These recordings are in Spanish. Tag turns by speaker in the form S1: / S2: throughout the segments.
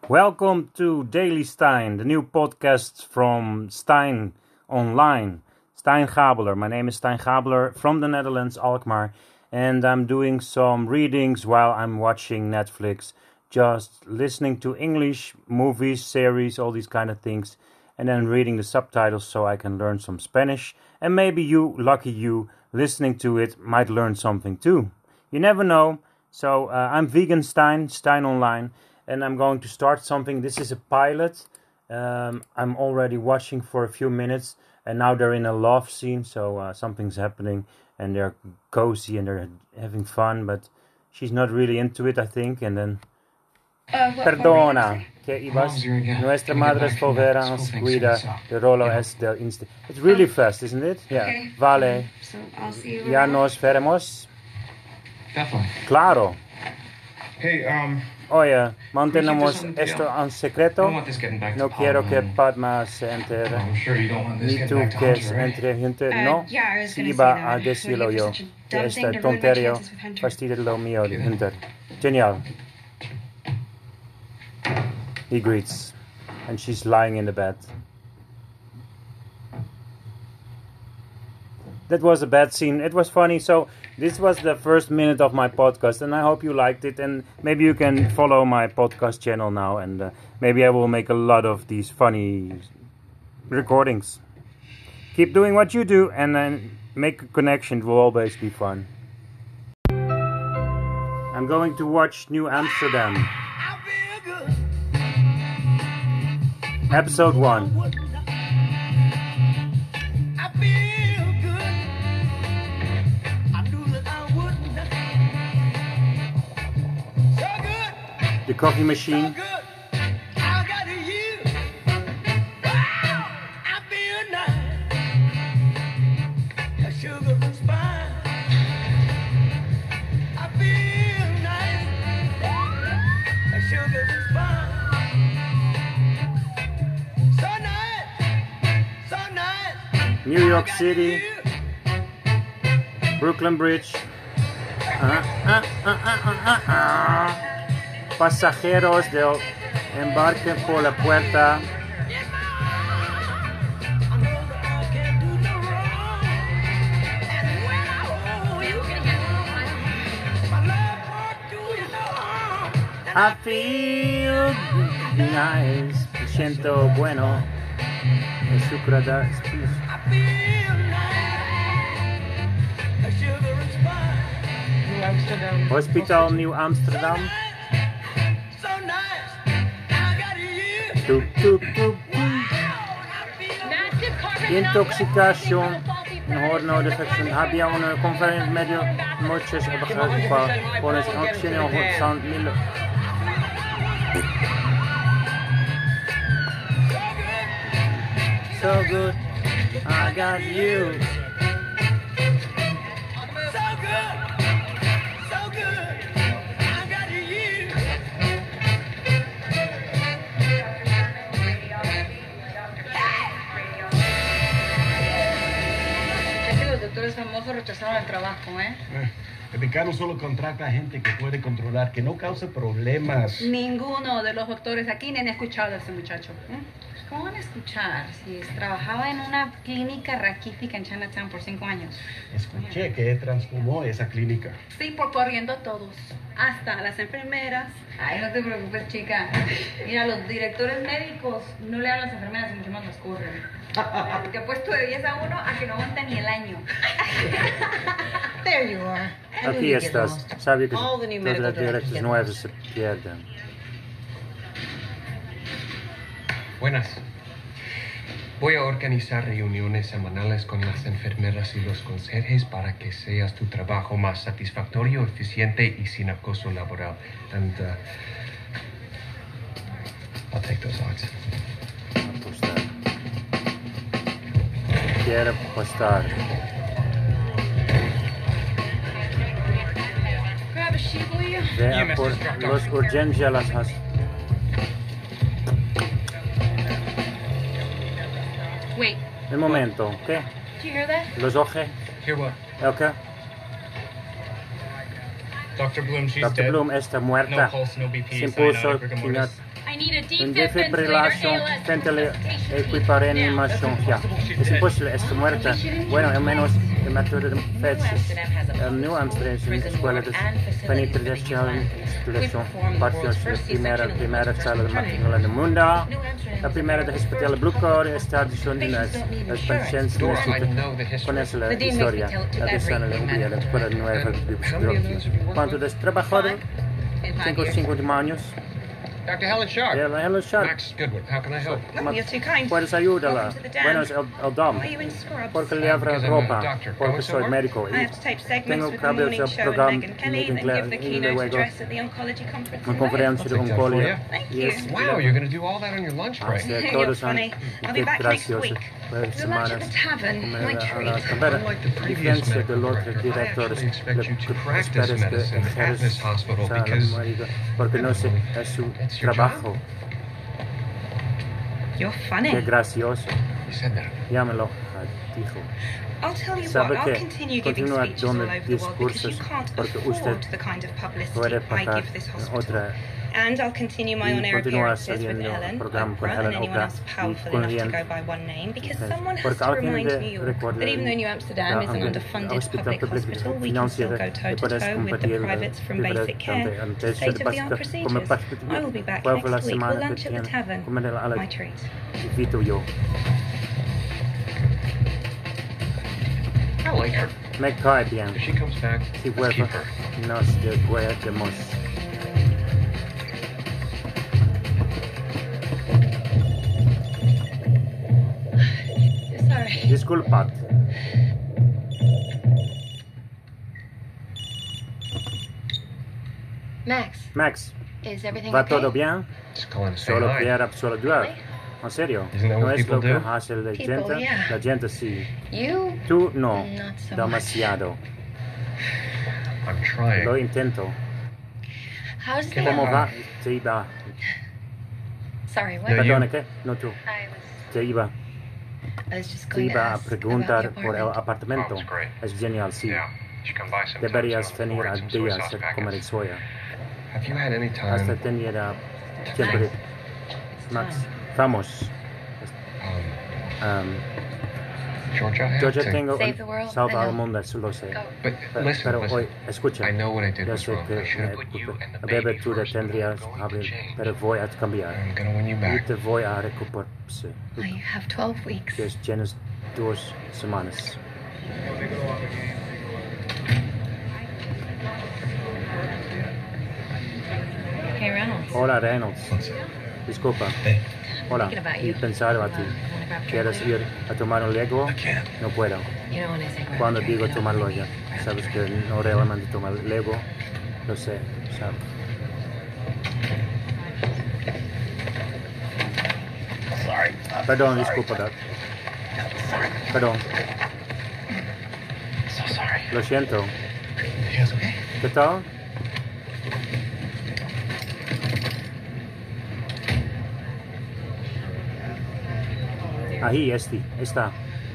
S1: Welcome to Daily Stein, the new podcast from Stein Online. Stein Gabeler. My name is Stein Gabeler from the Netherlands, Alkmaar. And I'm doing some readings while I'm watching Netflix. Just listening to English movies, series, all these kind of things. And then reading the subtitles so I can learn some Spanish. And maybe you, lucky you, listening to it might learn something too. You never know. So I'm Vegan Stein, Stein Online. And I'm going to start something. This is a pilot. I'm already watching for a few minutes. And now they're in a love scene. So something's happening. And they're cozy and they're having fun. But she's not really into it, I think. And then... Perdona, que ibas. Nuestra madre es povera, nos cuida. The rolo es del insta. It's really fast, isn't it? Yeah.
S2: Okay.
S1: Vale.
S2: So I'll see you
S1: Ya
S2: around.
S1: nos veremos.
S3: Definitely.
S1: Claro.
S3: Hey,
S1: Oye, mantenemos
S3: Can we keep this
S1: esto
S3: on
S1: en
S3: I
S1: secreto.
S3: don't want this getting back
S1: No
S3: to
S1: quiero
S3: Paul,
S1: que
S3: and
S1: Padma se entere.
S3: I'm sure you don't want this
S1: Ni
S3: getting
S1: tú
S3: back to
S1: que
S3: Hunter,
S1: se
S3: right?
S1: entre gente. No.
S2: Yeah, I was
S1: Si
S2: gonna
S1: iba
S2: say
S1: a
S2: that. What do
S1: decirlo
S2: you
S1: yo.
S2: think for such a
S1: Que
S2: dumb
S1: esta
S2: thing to ruin my
S1: tonterio
S2: chances with Hunter?
S1: fastidia lo mío de
S3: Okay, then.
S1: Hunter. Genial. He greets. And she's lying in the bed. That was a bad scene. It was funny. So this was the first minute of my podcast, and I hope you liked it. And maybe you can follow my podcast channel now, and maybe I will make a lot of these funny recordings. Keep doing what you do, and then make a connection. It will always be fun. I'm going to watch New Amsterdam. Episode 1. The coffee machine. New York City. Brooklyn Bridge. Pasajeros del embarque por la puerta. I feel nice. Me siento bueno. El sucrada.
S4: New Amsterdam.
S1: Hospital New Amsterdam. Tuk, tuk, tuk. Intoxicación. Mejor defección. Había una conferencia medio noches para poner acción en San Milo. So good, I got you.
S4: Es que los doctores famosos rechazaron el trabajo, ¿eh?
S5: El decano solo contrata a gente que puede controlar, que no cause problemas.
S4: Ninguno de los doctores aquí ni han escuchado a ese muchacho.
S2: ¿Cómo van a escuchar si trabajaba en una clínica raquítica en Chinatown por 5 años?
S5: Escuché que él transformó esa clínica.
S4: Sí, por corriendo a todos. Hasta a las enfermeras.
S2: Ay, no te preocupes, chica. Mira, los directores médicos no le dan a las enfermeras y mucho más las corren. Porque ha puesto de 10 a 1 a que no aguanta ni el año.
S4: There you are. I knew
S1: Aquí
S4: you'd get
S1: estás.
S4: lost.
S1: Sabía que
S4: All the new
S1: los
S4: medical directors
S1: directos
S4: get
S1: nuevos
S4: lost.
S1: se pierden.
S3: Buenas. Voy a organizar reuniones semanales con las enfermeras y los conserjes para que sea tu trabajo más satisfactorio, eficiente y sin acoso laboral. And I'll take those odds.
S1: Apostar. Quiero apostar.
S2: Grab a sheet, will you?
S1: Ve
S3: Yeah,
S1: a
S3: Mr.
S1: por
S3: Instructor.
S1: los urgencias las has.
S2: Wait,
S1: Un momento, ¿qué?
S2: did you hear that?
S1: Los ojos,
S3: Hear what?
S1: ¿ok?
S6: Dr. Bloom, she's
S1: Dr.
S6: dead.
S1: Bloom está
S6: No
S1: muerta.
S6: pulse, no BP,
S1: Sin pulso,
S6: cyanotic rigor
S1: sin
S6: mortis.
S2: I need
S1: Een defibrilación frente a la equiparanimación. Ya, es imposible, es muerta. Bueno, al menos el método de Fetches. El New Amsterdam es una escuela de penetración, instalación, partidos de primera sala de matrícula del mundo. La primera de hospital Blue Card está adicional en las pacientes conoce la historia, la persona de la escuela nueva de cuando has trabajado 5 años.
S3: Dr. Helen Sharp.
S1: Yeah, Helen Sharp.
S3: Max Goodwin, how can I help?
S4: Oh, you're too kind.
S1: Puedes ayudarla.
S4: Welcome to the dam.
S1: Bueno, es el dam.
S4: Why are you in scrubs?
S1: Porque le abro
S3: Because I'm a
S1: ropa.
S3: doctor.
S1: Porque
S3: Going
S1: soy
S3: somewhere?
S1: médico.
S4: I have to tape segments
S1: Tengo
S4: with
S1: que
S4: the
S1: abrir
S4: morning
S1: el
S4: show and
S1: programa
S4: Megyn Kelly, then give the
S1: y
S4: keynote
S1: luego
S4: address at the oncology conference.
S1: una
S4: in
S1: conferencia de
S3: I'll take that for
S1: oncología.
S3: you.
S4: Thank
S1: Y
S4: you.
S1: es
S3: Wow, you're going to do all that on your lunch break.
S1: Así
S4: You're
S1: todos son
S4: funny. I'll be back next
S1: graciosos.
S4: week.
S1: Pues
S4: We'll lunch
S1: semanas.
S4: at the tavern. My treat.
S1: Pero
S3: Unlike the previous
S1: diferencia
S3: medical
S1: del otro
S3: director, I
S1: director
S3: actually expect you to
S1: que
S3: practice
S1: esperes que
S3: medicine at this hospital because
S1: porque no sé, es su
S3: it's your
S1: trabajo.
S4: You're funny.
S1: Qué gracioso.
S3: You said that.
S1: Llámelo, dijo.
S4: I'll tell you what,
S1: ¿Sabe
S4: I'll
S1: qué?
S4: continue giving
S1: Continúa
S4: speeches all
S1: dando
S4: over the world because you
S1: discursos
S4: can't
S1: porque
S4: afford
S1: usted
S4: the kind of publicity
S1: puede
S4: I
S1: pagar
S4: give this
S1: en
S4: hospital.
S1: otra
S4: And I'll continue my
S1: y
S4: on-air
S1: continúa
S4: appearances with
S1: saliendo
S4: Helen,
S1: programa con
S4: Oprah,
S1: Helen
S4: and anyone
S1: Oprah
S4: else powerful
S1: con
S4: enough to
S1: Ian.
S4: go by one name, because
S1: Entonces,
S4: someone has
S1: porque
S4: to
S1: alguien
S4: remind
S1: de
S4: New York
S1: recuerda
S4: that even though New Amsterdam is an
S1: el
S4: underfunded
S1: hospital
S4: public
S1: público
S4: hospital, we can still go toe-to-toe with the privates from basic care to state-of-the-art procedures. I will be back next week. We'll lunch at the tavern. My treat.
S1: Invito yo.
S3: I like her.
S1: Me cae bien.
S3: If she comes back,
S1: Si
S3: let's
S1: vuelve,
S3: keep her.
S1: nos devuelvemos.
S4: Sorry.
S1: Disculpad.
S2: Max,
S1: Max,
S2: is everything
S1: ¿va
S2: okay?
S1: todo bien?
S3: Just calling to say
S1: Solo
S3: hi.
S1: quiero saludar. ¿En serio?
S3: Isn't that
S1: ¿No
S3: what
S1: es
S3: people
S1: lo que
S3: do?
S1: hace la
S2: People,
S1: gente?
S2: yeah.
S1: La gente sí.
S2: You?
S1: Tú no.
S2: Not so
S1: Demasiado.
S3: I'm trying.
S1: Lo intento.
S2: How's the...
S1: ¿Cómo va? Te iba.
S2: Sorry, what?
S3: No, you-
S1: Perdona, ¿qué? No tú.
S2: I was
S1: Te iba.
S2: just
S1: Te
S2: going to
S1: iba a
S2: ask
S1: preguntar
S2: about the
S1: por el
S2: apartment.
S1: apartamento.
S3: Oh, it's great.
S1: Es genial, sí.
S3: Yeah. You should come by sometime
S1: Deberías
S3: soon.
S1: venir
S3: Order
S1: a
S3: some soy
S1: días
S3: sauce
S1: a comer
S3: packets.
S1: soya.
S3: Have you had any
S1: Hasta
S3: time?
S1: tenía tiempo de... Max, vamos.
S3: Georgia, I have
S1: Yo
S3: to.
S1: ya tengo
S2: Save the world,
S1: salva
S2: I
S1: al
S2: know.
S1: mundo, eso lo sé.
S2: Go.
S3: But listen,
S1: Pero
S3: listen.
S1: hoy, escucha.
S3: I know what I did
S1: Yo
S3: was
S1: sé
S3: wrong.
S1: que
S3: I should have put you and the
S1: bebé
S3: baby
S1: tú
S3: first, but
S1: tendrías
S3: I'm going to
S1: abrir,
S3: change.
S1: pero voy a cambiar.
S3: I'm going to win you
S1: Y
S3: back.
S1: te voy a recuperar.
S2: I have 12 weeks.
S1: Que tienes 2 semanas.
S2: Hey, Reynolds.
S1: Hola, Reynolds. Disculpa. Hola.
S2: Thinking about
S1: Y
S2: you.
S1: pensar a ti.
S2: Wanna grab
S1: ¿Quieres
S2: chocolate?
S1: ir a tomar un Lego? No puedo.
S2: You know when I say grab
S1: Cuando
S2: a drink,
S1: digo
S2: you know,
S1: tomarlo
S2: like,
S1: ya.
S2: grab a
S1: Sabes
S2: drink.
S1: que no realmente tomar Lego. Lo sé, sabes. Perdón, disculpa, Doc. Perdón,
S3: So sorry.
S1: lo siento.
S3: Yes, okay.
S1: ¿Qué tal? Ahí, está.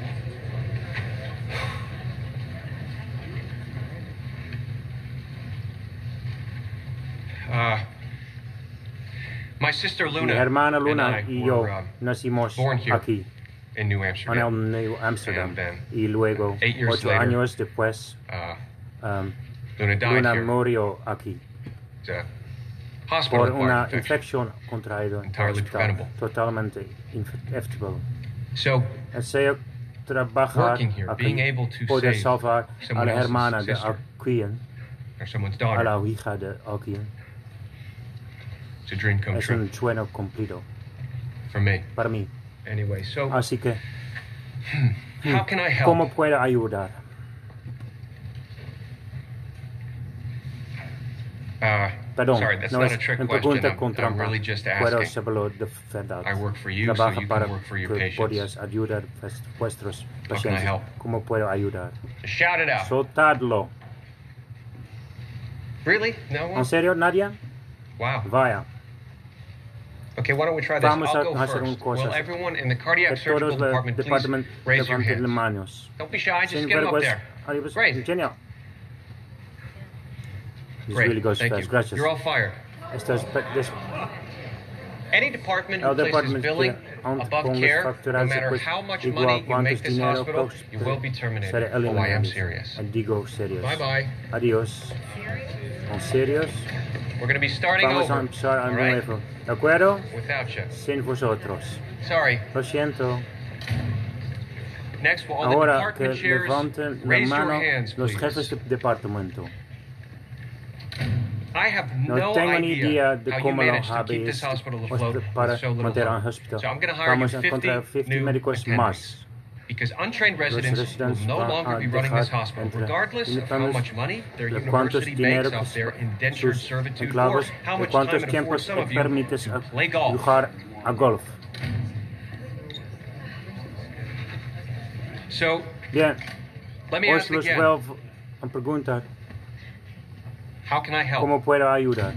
S3: My sister
S1: Mi
S3: Luna
S1: hermana
S3: and
S1: Luna
S3: I
S1: y yo
S3: were
S1: nacimos
S3: born here
S1: aquí,
S3: in New
S1: en
S3: Amsterdam.
S1: el New Amsterdam.
S3: And then,
S1: Y luego,
S3: 8 years
S1: 8
S3: later,
S1: años después,
S3: Luna died
S1: Luna
S3: here.
S1: murió aquí
S3: It's a hospital
S1: por una
S3: acquired infection.
S1: infección contraída en el
S3: Entirely
S1: hospital,
S3: preventable.
S1: totalmente infectable.
S3: So,
S1: Deseo trabajar
S3: Working here, being
S1: aquí,
S3: able to
S1: poder
S3: save
S1: salvar a
S3: someone
S1: la
S3: else's
S1: hermana de
S3: sister.
S1: Alquien,
S3: or someone's
S1: a
S3: daughter,
S1: la hija de Alquien,
S3: it's a dream come
S1: es
S3: true
S1: un sueño cumplido
S3: for me.
S1: para mí.
S3: Anyway, so
S1: Así que,
S3: how can I help?
S1: ¿cómo puedo ayudar? Perdón,
S3: sorry, that's
S1: no
S3: not
S1: es
S3: a trick
S1: una
S3: question.
S1: pregunta con
S3: I'm
S1: trampa.
S3: really just
S1: Puedo
S3: asking.
S1: saberlo de verdad.
S3: I work for you, so
S1: Trabaja
S3: you
S1: para
S3: can work for your
S1: que
S3: patients.
S1: podías ayudar a vuestros
S3: How can I
S1: pacientes.
S3: help?
S1: ¿Cómo puedo ayudar?
S3: Shout it out.
S1: Soltadlo.
S3: Really? No one?
S1: ¿En serio, Nadia?
S3: Wow.
S1: Vaya.
S3: Okay, why don't we try this?
S1: Vamos
S3: I'll go
S1: a hacer
S3: first.
S1: un cosa.
S3: Will everyone in the cardiac
S1: Que
S3: surgical
S1: todos del
S3: department please
S1: departamento
S3: raise your
S1: levanten las
S3: hands?
S1: manos.
S3: Don't be shy, just
S1: Sin
S3: get them up
S1: vergüenza.
S3: there.
S1: Adiós.
S3: Great.
S1: Genial. This
S3: Great,
S1: really goes
S3: thank
S1: fast.
S3: you.
S1: Gracias.
S3: You're all fired.
S1: Esto es
S3: Any department who places billing above care, no matter how much money you make this hospital, you will be terminated. Oh, I am serious. Bye-bye.
S1: Adiós. ¿En serios?
S3: We're going to be starting over.
S1: Vamos a empezar de nuevo. ¿De acuerdo?
S3: Without you.
S1: Sin vosotros.
S3: Sorry.
S1: Lo siento.
S3: Next, will all the
S1: Ahora
S3: department
S1: que
S3: chairs
S1: levanten la
S3: raise your
S1: mano
S3: hands,
S1: los
S3: please.
S1: jefes de departamento.
S3: I have
S1: No
S3: no
S1: tengo ni idea
S3: idea
S1: de
S3: how you
S1: cómo lo
S3: managed to keep this
S1: habéis
S3: hospital
S1: puesto
S3: afloat
S1: para
S3: with so little
S1: mantener el
S3: funds.
S1: hospital.
S3: So I'm going to hire you
S1: Vamos a
S3: 50
S1: encontrar 50
S3: new
S1: médicos
S3: attendants.
S1: más.
S3: Because untrained
S1: Los
S3: residents will
S1: residentes
S3: no
S1: van
S3: longer
S1: a
S3: be running this
S1: dejar
S3: hospital,
S1: entre
S3: regardless of how
S1: internos
S3: much money their
S1: de cuántos
S3: university
S1: dinero
S3: makes off their indentured
S1: sus
S3: servitude, or
S1: esclavos,
S3: how
S1: de
S3: much time
S1: cuántos
S3: it affords
S1: tiempos
S3: some of you
S1: permites
S3: to play golf.
S1: jugar a golf.
S3: So,
S1: Bien,
S3: let me
S1: os
S3: ask
S1: los
S3: again,
S1: vuelvo a preguntar,
S3: how can I help?
S1: ¿cómo puedo ayudar?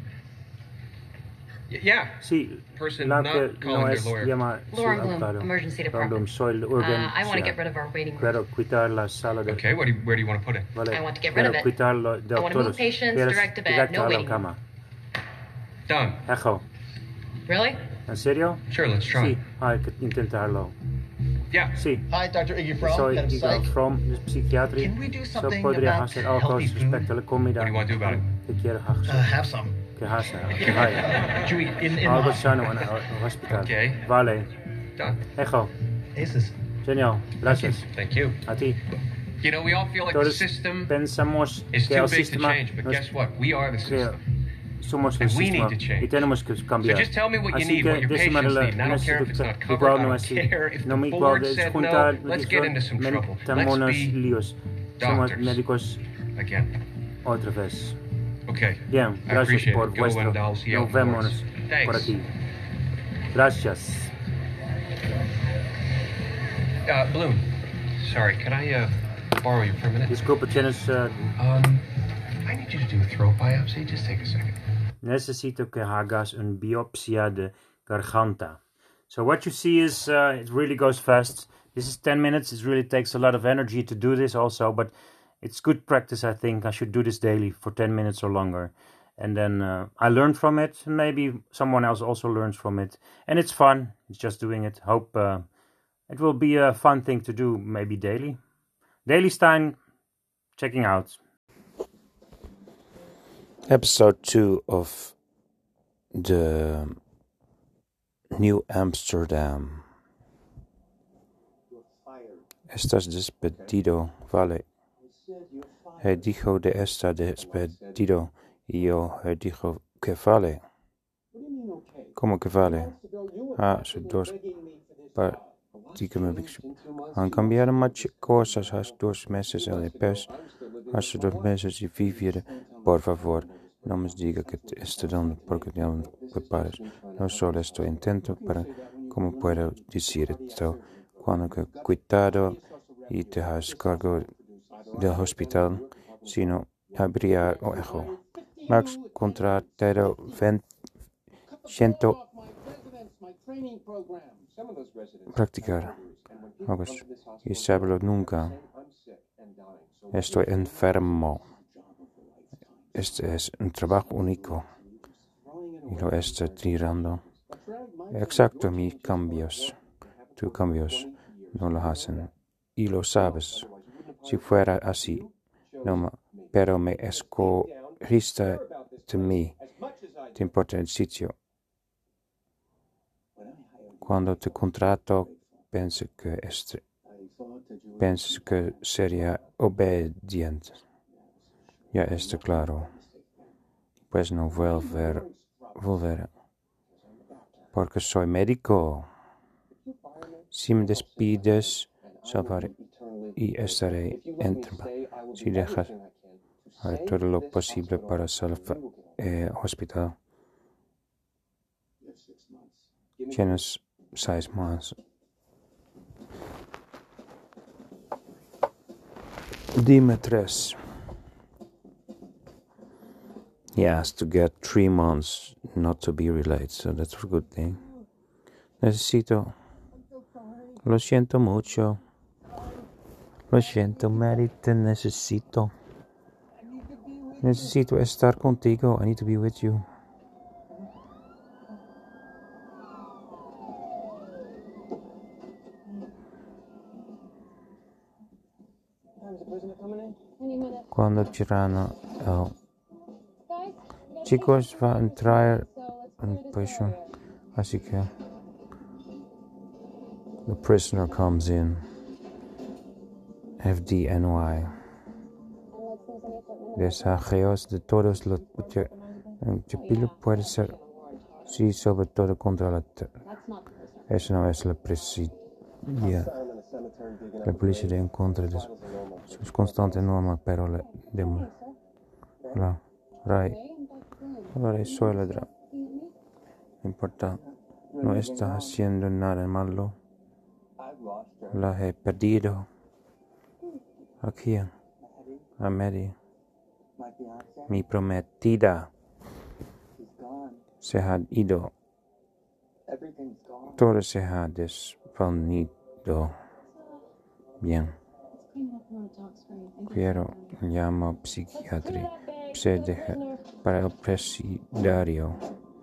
S3: Yeah,
S1: Sí,
S3: person
S1: la
S3: not
S1: que
S3: calling
S1: no
S3: their
S1: es
S3: lawyer.
S1: llama su
S2: Lauren Bloom,
S1: abogado.
S2: emergency
S1: Lauren Bloom,
S2: department.
S1: soy el
S2: I want to get rid of our waiting room.
S1: Quiero quitar la sala de...
S3: Okay, where do you want to put it?
S1: Vale,
S2: I want to get rid of
S1: quiero
S2: it.
S1: quitarlo de
S2: I want to move
S1: todos.
S2: patients
S1: Quieres
S2: direct to bed,
S1: directo
S2: no
S1: a la
S2: waiting
S1: cama.
S3: Done.
S1: Ejo,
S2: Really?
S1: ¿en serio?
S3: Sure, let's try.
S1: Sí, hay que intentarlo.
S3: Yeah.
S1: Sí,
S5: Hi, Dr. Iggy Fromm,
S1: soy
S5: head of
S1: Igor
S5: psych.
S1: From, de psiquiatría.
S5: Can we do
S1: So
S5: something
S1: podría
S5: about
S1: hacer algo
S5: healthy food?
S1: respecto a la comida.
S3: What do you want to do about it?
S1: ¿Qué quieres hacer?
S5: Have some.
S1: ¿Qué hacer? ¿Qué hay?
S5: Chewy, in the
S1: Algo
S5: hospital.
S1: sano en el hospital.
S3: Okay.
S1: Vale.
S3: Done.
S1: Ejo,
S5: Aces.
S1: genial. Gracias.
S3: Thank you.
S1: A ti.
S3: You know, we all feel like the
S1: Todos
S3: system
S1: pensamos
S3: is
S1: que
S3: too
S1: el
S3: big to
S1: sistema
S3: change, but
S1: nos-
S3: guess what? We are the
S1: que
S3: system.
S1: somos el
S3: And we
S1: sistema
S3: need to change.
S1: y tenemos que
S3: So
S1: cambiar.
S3: just tell me what you
S1: Así
S3: need,
S1: que
S3: what your
S1: decime
S3: patients
S1: la
S3: need. And I don't care if it's not
S1: necesidad.
S3: covered.
S1: Igual
S3: I
S1: no
S3: don't
S1: es
S3: care if
S1: no
S3: the
S1: me igual
S3: board
S1: de
S3: said
S1: juntar.
S3: no. Let's get into some trouble. Let's
S1: Metámonos
S3: be
S1: líos. Somos
S3: doctors.
S1: médicos
S3: again.
S1: otra vez.
S3: Okay.
S1: Bien,
S3: I
S1: gracias
S3: appreciate
S1: por
S3: it. Go
S1: vuestro.
S3: and I'll see you out
S1: Nos
S3: in the woods.
S1: vemos
S3: Thanks.
S1: por aquí. Gracias.
S3: Bloom, sorry, can I borrow you for a minute?
S1: Disculpa, tienes.
S3: I need you to do a throat biopsy. Just take a second.
S1: Necesito que hagas un biopsia de garganta. So what you see is it really goes fast. This is 10 minutes. It really takes a lot of energy to do this also, but it's good practice, I think. I should do this daily for 10 minutes or longer. And then I learn from it. Maybe someone else also learns from it. And it's fun. It's just doing it. Hope it will be a fun thing to do, maybe daily. Daily Stein, checking out. Episode 2 of the New Amsterdam. Estás despedido, vale. He dijo de está despedido y yo he dijo que vale. ¿Cómo que vale? Hace dos han cambiado muchas cosas hace 2 meses el pez. Hace 2 meses y vivir, por favor. No me diga que te estoy dando porque ya me preparas. No solo estoy intento para cómo puedo decir esto. Cuando que cuidado y te has cargo del hospital, sino habría ojo. Max contratado 100 practicar. August, y saberlo nunca. Estoy enfermo. Este es un trabajo único. Y lo estoy tirando. Exacto, mis cambios. Tus cambios no lo hacen. Y lo sabes. Si fuera así, no, pero me escogiste de mí. Te importa el sitio. Cuando te contrato, pienso que sería obediente. Ya está claro. Pues no volver. Porque soy médico. Si me despides, salvaré y estaré entre. Si dejas, haré todo lo posible para salvar el hospital. Tienes 6 más. Dime 3. He has to get 3 months not to be related, so that's a good thing. Necesito. Lo siento mucho. Lo siento, Mary, te necesito. Necesito estar contigo. I need to be with you. Cuando tirano chicos va a entrar en prisión, así que the prisoner comes in. FDNY. Desajeos de todos los chapilo puede ser, sí, sobre todo contra la eso no es la policía. La policía en contra de sus constantes normas, pero la soy ladrón. No importa, no está haciendo nada malo. La he perdido. Aquí, a Mary, mi prometida, se ha ido. Todo se ha desvanecido. Bien. Quiero llamo psiquiatra para el presidiario.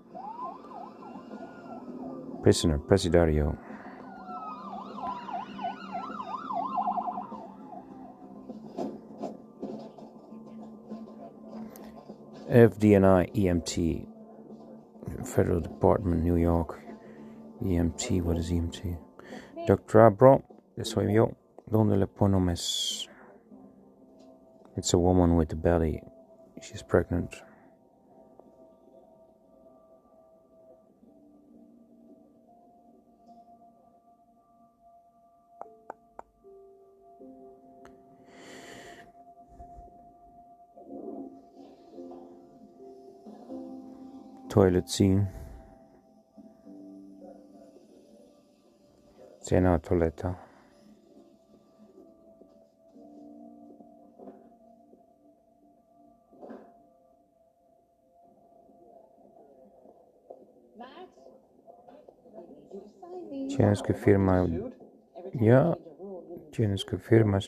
S1: Presidiario. FDNI EMT, Federal Department, New York. EMT, what is EMT? Dr. Abro, soy yo. ¿Dónde le ponemos? It's a woman with a belly. She's pregnant. Toilet scene. Cena toaleta. Tienes que firmar. Ya. Tienes que firmar.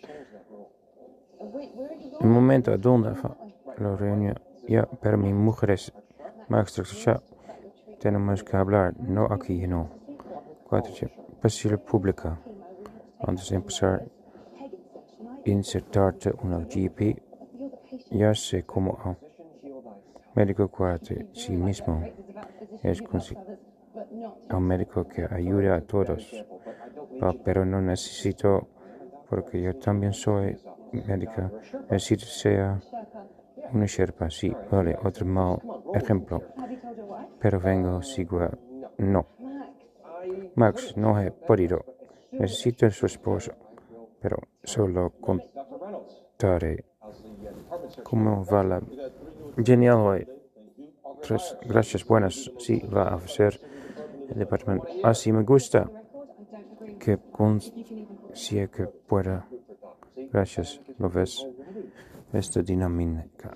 S1: Un momento, ¿a dónde va la reunión? Ya, pero mi mujer es maestra. Tenemos que hablar, no aquí, no. 4. Pasión pública. Antes de empezar, insertarte una GP. Ya sé cómo. Médico 4, sí mismo. Es un médico que ayuda a todos. Pero no necesito, porque yo también soy médica. Necesito ser una sherpa, sí, vale, otro mal ejemplo. Pero vengo, sigo, no. Max, no he podido. Necesito a su esposo, pero solo contaré cómo va la... Genial hoy. 3, gracias, buenas. Sí, va a ser el departamento. Así me gusta. Que consigue que pueda. Gracias, ¿lo ves? Esta dinámica.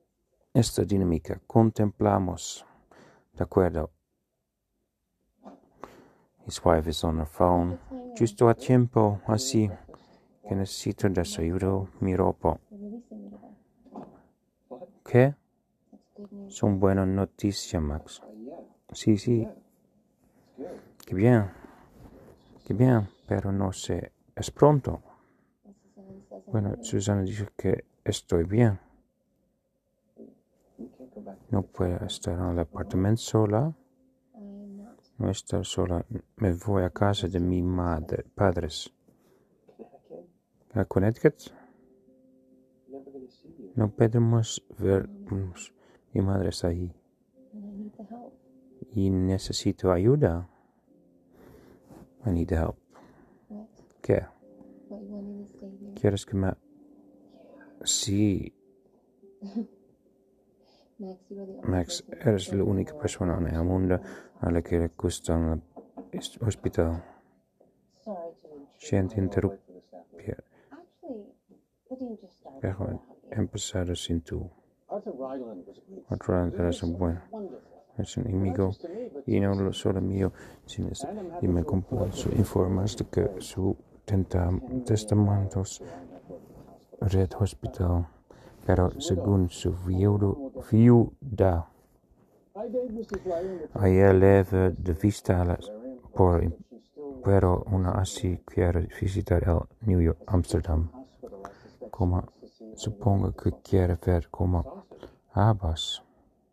S1: Contemplamos. De acuerdo. His wife is on her phone. Justo a tiempo, así que necesito desayuno, mi ropa. ¿Qué? Son buenas noticias, Max. Sí. Qué bien, pero no sé, es pronto. Bueno, Susana dice que estoy bien. No puedo estar en el apartamento sola. No estar sola. Me voy a casa de mi padres. ¿A Connecticut? No podemos vernos. Mi madre está ahí. Y necesito ayuda. I need help. ¿Qué? ¿Quieres que me...? Sí. Max, eres la única persona en el mundo a la que le gusta el hospital. Siento interrumpir. Pero empezar sin tú. Arthur Ragland eres un buen. Es un amigo. Y no solo mío, sino y me compuso informes de que su testamentos Red Hospital, pero según su viuda, ella leve de vista pero una así quiere visitar el New York, Amsterdam. como supongo que quiere ver como habas.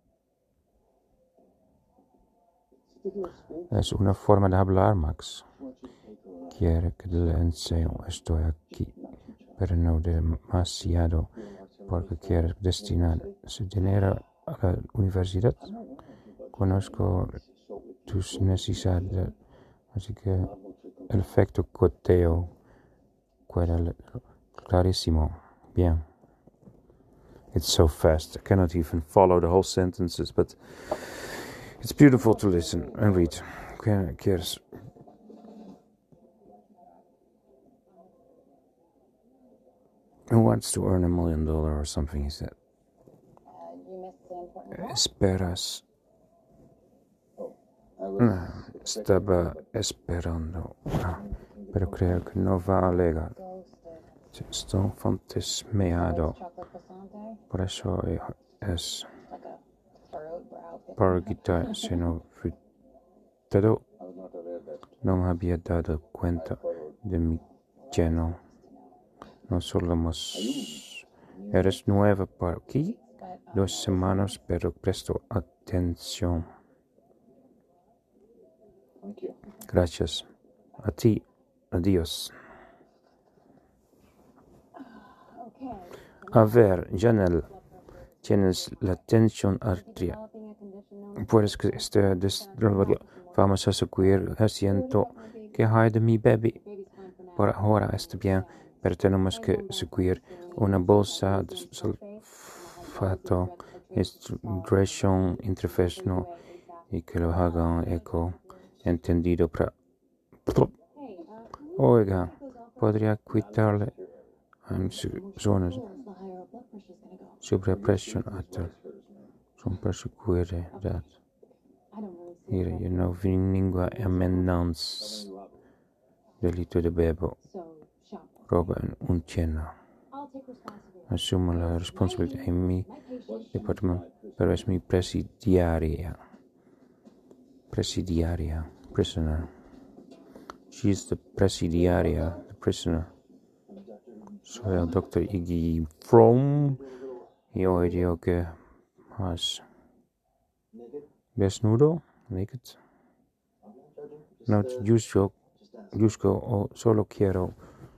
S1: Es una forma de hablar, Max. Quiere que le enseñe. Estoy aquí, pero no demasiado, porque quiere destinar su dinero a la universidad. Conozco tus necesidades, así que el efecto goteo queda clarísimo. Bien. It's so fast, I cannot even follow the whole sentences, but it's beautiful to listen and read. ¿Quieres? Who wants to earn $1 million or something, he said. Esperas. Estaba esperando, pero creo que no va a llegar. Estoy fantasmeado. Por eso es parguita sino frustrado. No me había dado cuenta de mi lleno. No solemos. Eres nueva por aquí. 2 semanas, pero presto atención. Gracias. A ti. Adiós. A ver, Janelle, tienes la tensión arterial. Puedes que esté vamos a seguir haciendo que hay de mi bebé. Por ahora está bien, pero tenemos que seguir una bolsa de sulfato, hydration intravenoso y que lo hagan eco. Entendido para... Oiga, podría quitarle en su zona sobrepresión alta. Son para seguridad. Mira, yo no vi ninguna amenaza. Delito de bebo. Roba en un cheno. Asumo la responsabilidad en mi departamento, pero es mi presidiaria. Prisoner. She's the presidiaria, the prisoner. Soy el Dr. Iggy Fromm y hoy digo que más desnudo, naked. No, Yusko, solo quiero.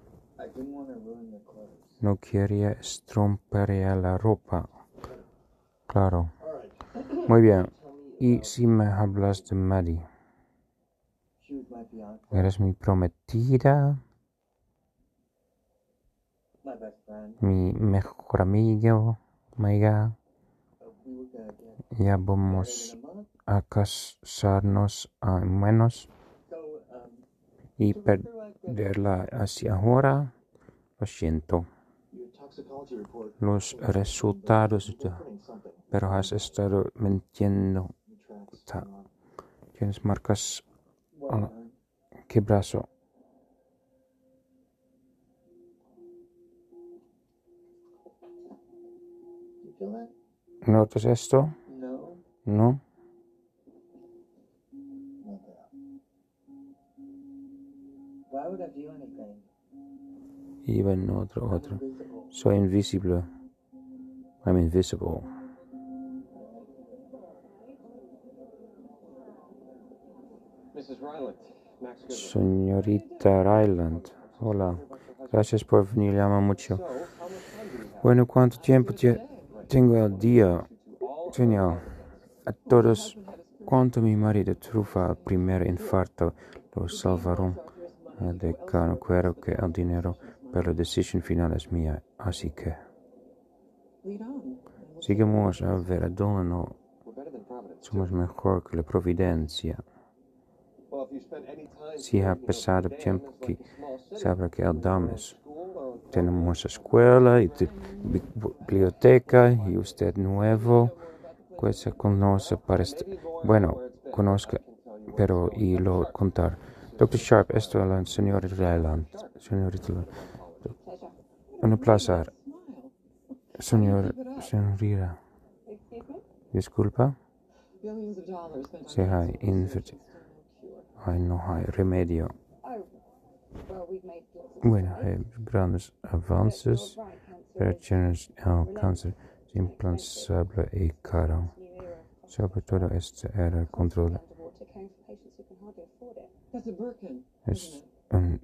S1: No quería estropear la ropa. Claro. Muy bien. Y si me hablas de Maddie. Eres mi prometida. Mi mejor amiga. Ya vamos a casarnos a menos. Y perderla hacia ahora. Lo siento. Los resultados, pero has estado mintiendo. Tienes marcas. ¿Qué brazo? ¿Notas esto? No. Even otro. Soy invisible. I'm invisible. Señorita Ryland, hola. Gracias por venir, llama mucho. Bueno, ¿cuánto tiempo tengo el día? Genial. A todos, cuando mi marido tuvo el primer infarto, lo salvaron. El decano quiero que el dinero, pero la decisión final es mía, así que sigamos a ver a dónde no somos mejor que la providencia. Si ha pasado tiempo que sabrá que el dames tenemos escuela y biblioteca y usted nuevo que se conoce para bueno, conozca, pero y lo contar. Dr. Sharp, esto es la señorita Ryland. Señorita, un placer. Señorita. Disculpa. Si hay no hay remedio. Bueno, hay grandes avances operaciones al cáncer implantable y caro. Sobre todo este era el control. Es un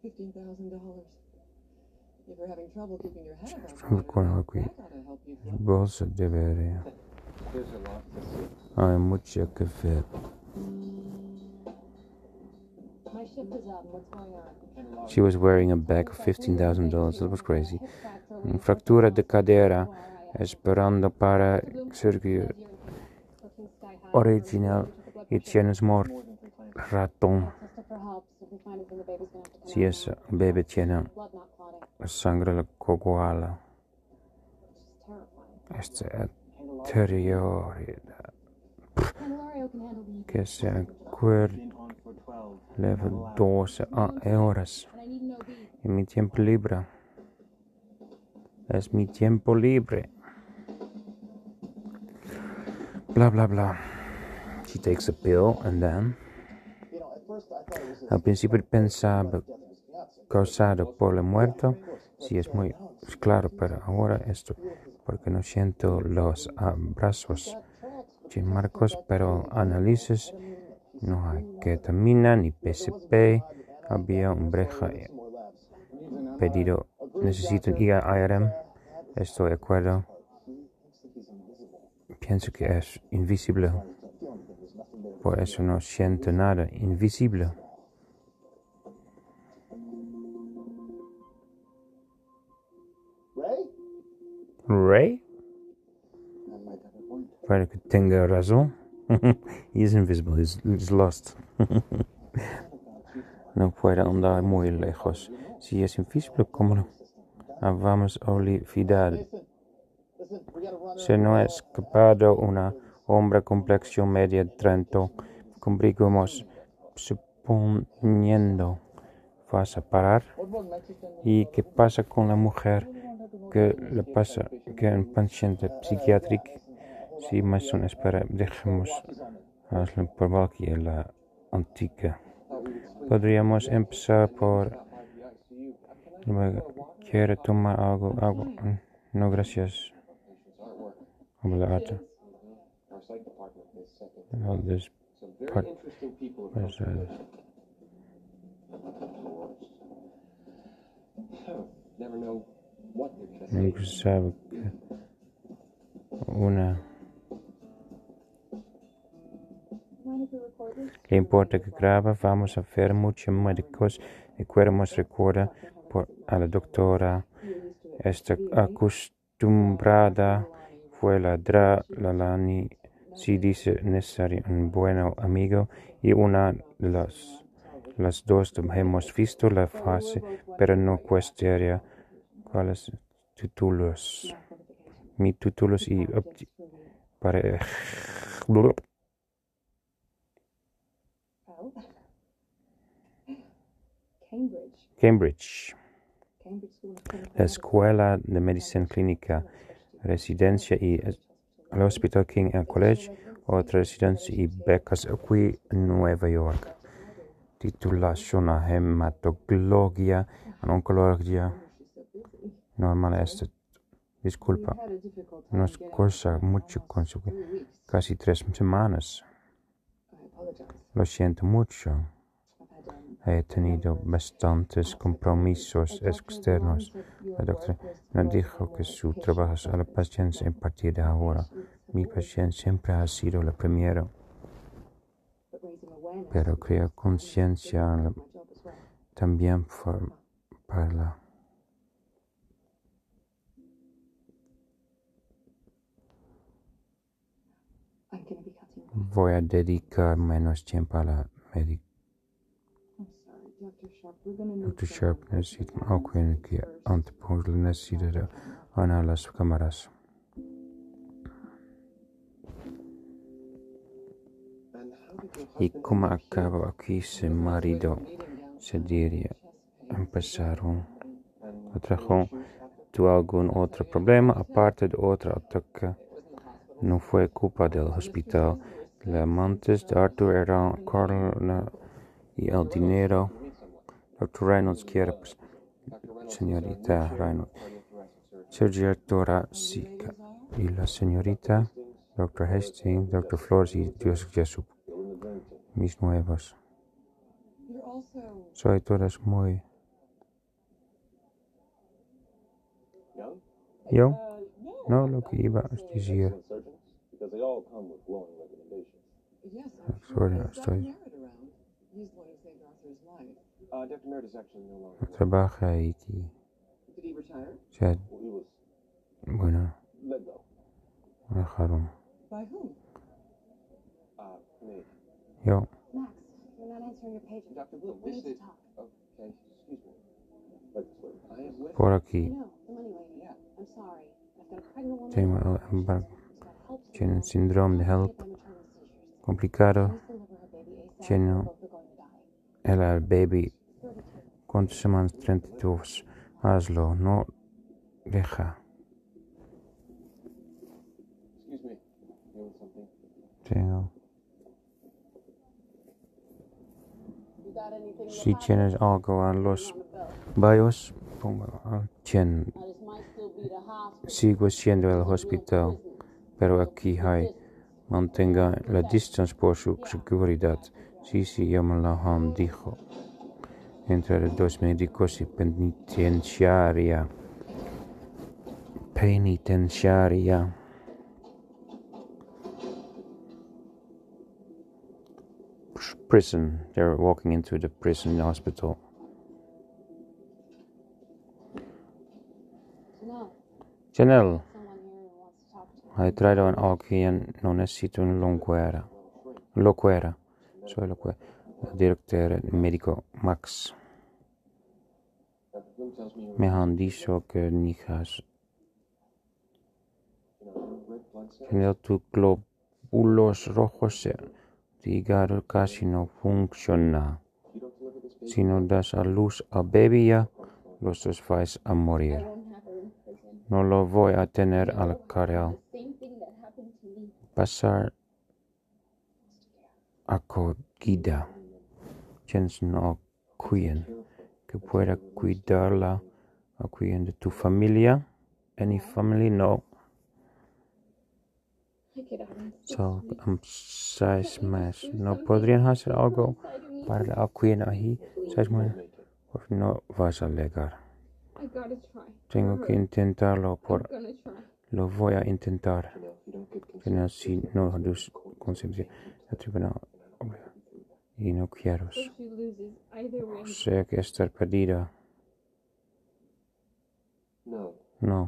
S1: bolsa debería. Hay mucho que ver. She was wearing a bag of $15,000. That was crazy. Fractura de cadera, esperando para cirugía original y tienes ratón. Si ese bebé tiene sangre coagulada, esta anterioridad que se acuerde leve 12 horas en mi tiempo libre. Es mi tiempo libre. Blah, blah, blah. She takes a pill and then... Al principio pensaba causado por la muerte. Sí, es muy claro, pero ahora esto porque no siento los brazos sin marcos, pero análisis no hay ketamina ni PCP. Había un breja pedido. Necesito IRM. Estoy de acuerdo. Pienso que es invisible. Por eso no siento nada. Invisible. Ray? Para que tenga razón. He is invisible. He's lost. No puede andar muy lejos. Si es invisible, ¿cómo no? Vamos a olvidar. Se no ha escapado una hombre complexión media 30. Cumplimos suponiendo. ¿Vas a parar? ¿Y qué pasa con la mujer? ¿Qué le pasa? Que un paciente psiquiátrico? Si más son espera, dejemos hazlo por aquí en la antigua. Podríamos empezar por... ¿Quiere tomar algo? Agua? No, gracias. Obrigado. Nunca sabe que una... ¿Le importa que graba? Vamos a ver muchos médicos y queremos recordar a la doctora. Está acostumbrada fue la Lani. Si dice necesario un buen amigo y una de las dos hemos visto la fase, pero no cuestiona cuáles títulos. Mi títulos y para Cambridge. La escuela de medicina clínica, residencia y el Hospital King College, otra residencia y becas aquí en Nueva York. Titulación a hematología, en oncología. Normal este. Disculpa, nos cuesta mucho conseguir. Casi 3 semanas. Lo siento mucho. He tenido bastantes compromisos externos. La doctora nos dijo que su trabajo es a la paciencia a partir de ahora. Mi paciencia siempre ha sido la primera. Pero creo conciencia también para la... Voy a dedicar menos tiempo a la médica. Dr. Sharp necesita algo que anteponga la necesidad a las cámaras. Y como acabo aquí, su marido se diría, empezaron a trabajar. ¿Tuvo algún otro problema aparte de otro ataque? No fue culpa del hospital. Los amantes de Arthur eran Carla y el dinero. Dr. Reynolds quiere, señorita Reynolds. Doctora Sika y la señorita Dr. Hastings, Dr. Flores y Dios Jesús, mis nuevos. Soy todas muy... ¿Yo? No, lo que iba a decir. Estoy... Trabaja aquí. Ya, bueno, me dejaron. Yo. Por aquí. Tiene síndrome de HELP complicado. Tiene el baby. ¿Cuántas semanas? 32. Hazlo, no deja. Tengo. Si tienes algo en los BIOS, pongo sigo siendo el hospital, pero aquí hay, mantenga la distancia por su seguridad. Sí, yo me lo han dicho. Entre los dos médicos y penitenciaria. Prison. They're walking into the prison hospital. Janelle, hai traído a alguien, no necesito un locuera. Soy locuera. El director médico Max. Me han dicho que nijas. Janelle, tus glóbulos rojos de hígado casi no funcionan. Si no das a luz al bebé ya, los dos vais a morir. No lo voy a tener al carril. Pasar acogida. Quienes no cuiden, que pueda cuidarla, o cuiden de tu familia. Any family, no. So, 6 meses. ¿No podrían hacer algo para la cuidar ahí? 6 meses. Pues no vas a llegar. Tengo que intentarlo lo voy a intentar. Pero si no dus concepción el tribunal y no quiero. O sea que estar perdida. No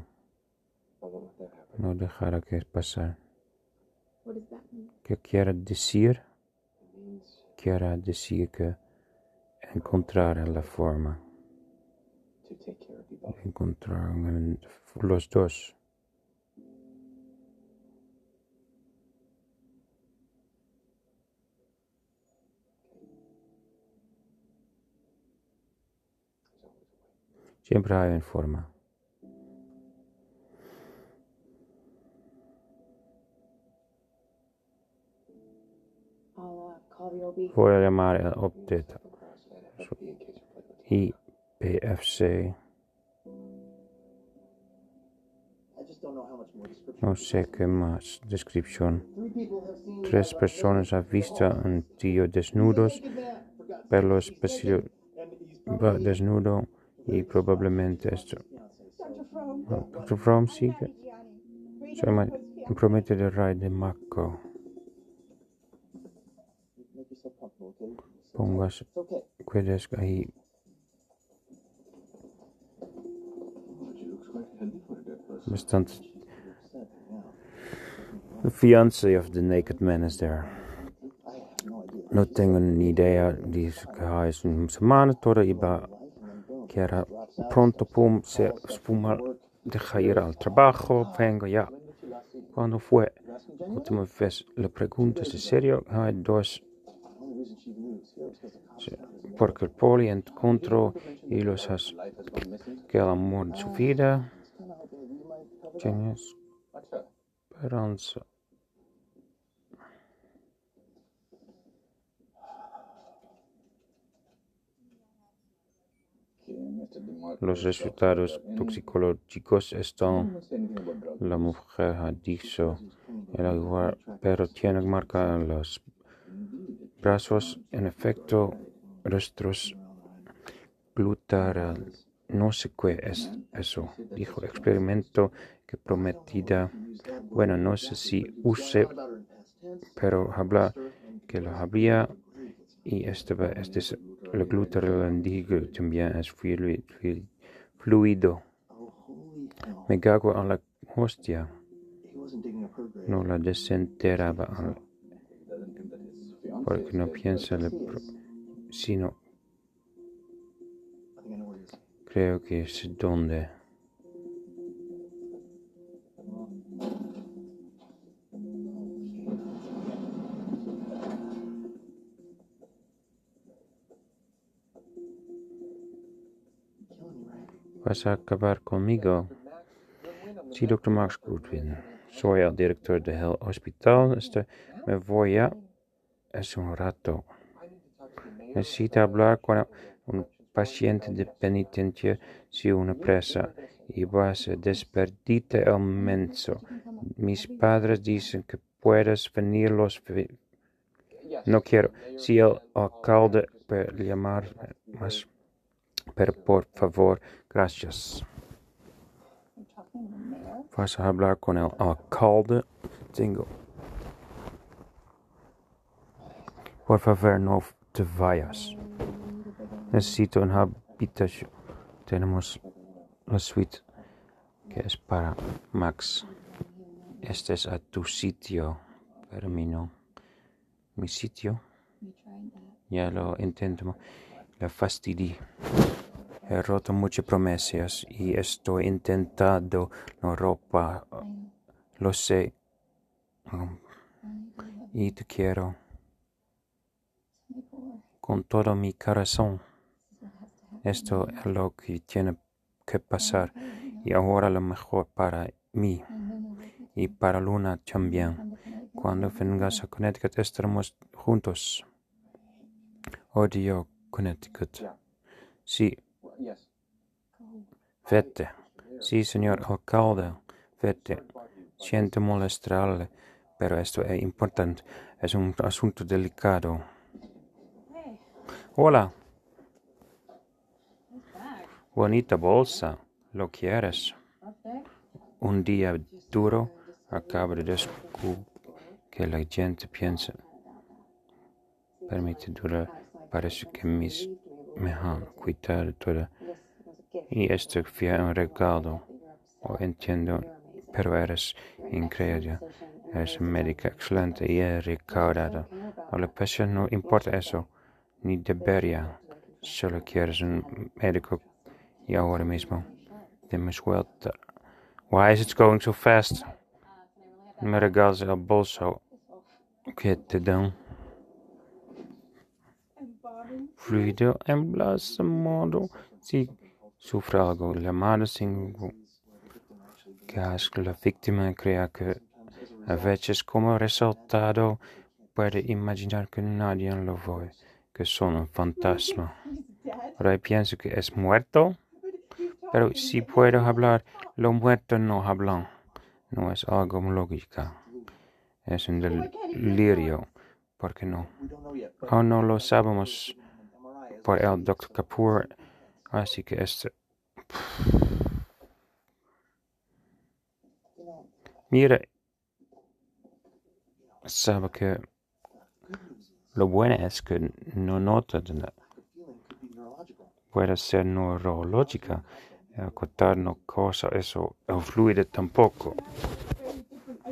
S1: dejará que pasar. ¿Qué quiere decir? Quiere decir que encontrar la forma. Encontrar los dos. Siempre hay una forma. Voy a llamar el update. IPFC. No sé qué más. Descripción. 3 personas han visto un tío desnudos, pelo especial desnudo y probablemente esto. Dr. Fromm sigue. Promete de Ray de Mako. Pongas cuides ahí. Bastante. The fiancé of the naked man is there. No tengo ni idea. Dice que es una semana toda iba que era pronto se fuma, deja ir al trabajo, vengo ya. Cuando fue última vez le pregunto si serio hay 2 porque el poli encontró y los has que el amor de su vida tiene esperanza.
S6: los resultados toxicológicos están, la mujer ha dicho, pero tiene marca en los brazos, en efecto, rostros, glutaral, no sé qué es eso, dijo, experimento que prometida, bueno, no sé si use, pero habla que lo habría, y el glutaral digo también es fluido. Me cago en la hostia. No la desenterraba, porque no piensa sino creo que es donde. ¿Vas a acabar conmigo? Sí, Dr. Max Goodwin. Soy el director del hospital. Me voy a... Es un rato. Necesito hablar con un paciente de penitencia, si una presa, y vas a despedirte el menso. Mis padres dicen que puedes venir No quiero. Si el alcalde puede llamar más... Pero por favor, gracias. ¿Vas a hablar con el alcalde? Tengo. Por favor, no te vayas. Necesito una habitación. Tenemos la suite que es para Max. Este es a tu sitio, pero mi no. Mi sitio. Ya lo intento. La fastidié. He roto muchas promesas y estoy intentando no ropa. Lo sé. Y te quiero. Con todo mi corazón. Esto es lo que tiene que pasar. Y ahora lo mejor para mí. Y para Luna también. Cuando vengas a Connecticut estaremos juntos. Odio Connecticut. Sí. Vete. Sí, señor alcalde. Vete. Siento molestarle, pero esto es importante. Es un asunto delicado. Hola. Bonita bolsa. ¿Lo quieres? Un día duro. Acabo de descubrir que la gente piensa. Permite durar. Parece que me han cuidado toda. Y esto fue un regalo. Entiendo, pero eres increíble. Eres un médico excelente y he recaudado. A la pasión no importa eso, ni debería. Solo quieres un médico y ahora mismo. Demos vuelta. Why is it going so fast? Me regalas el bolso que te dan. Fluido embalsamado. Si sufre algo llamado sin gas, la víctima crea que a veces como resultado puede imaginar que nadie lo ve, que son un fantasma. Ahora pienso que es muerto, pero si puedo hablar, los muertos no hablan. No es algo lógico. Es un delirio. ¿Por qué no? Aún no lo sabemos por el Dr. Kapoor, así que Mira, sabe que lo bueno es que no nota de nada. Puede ser neurológica, el cortar no cosa eso, el fluido tampoco.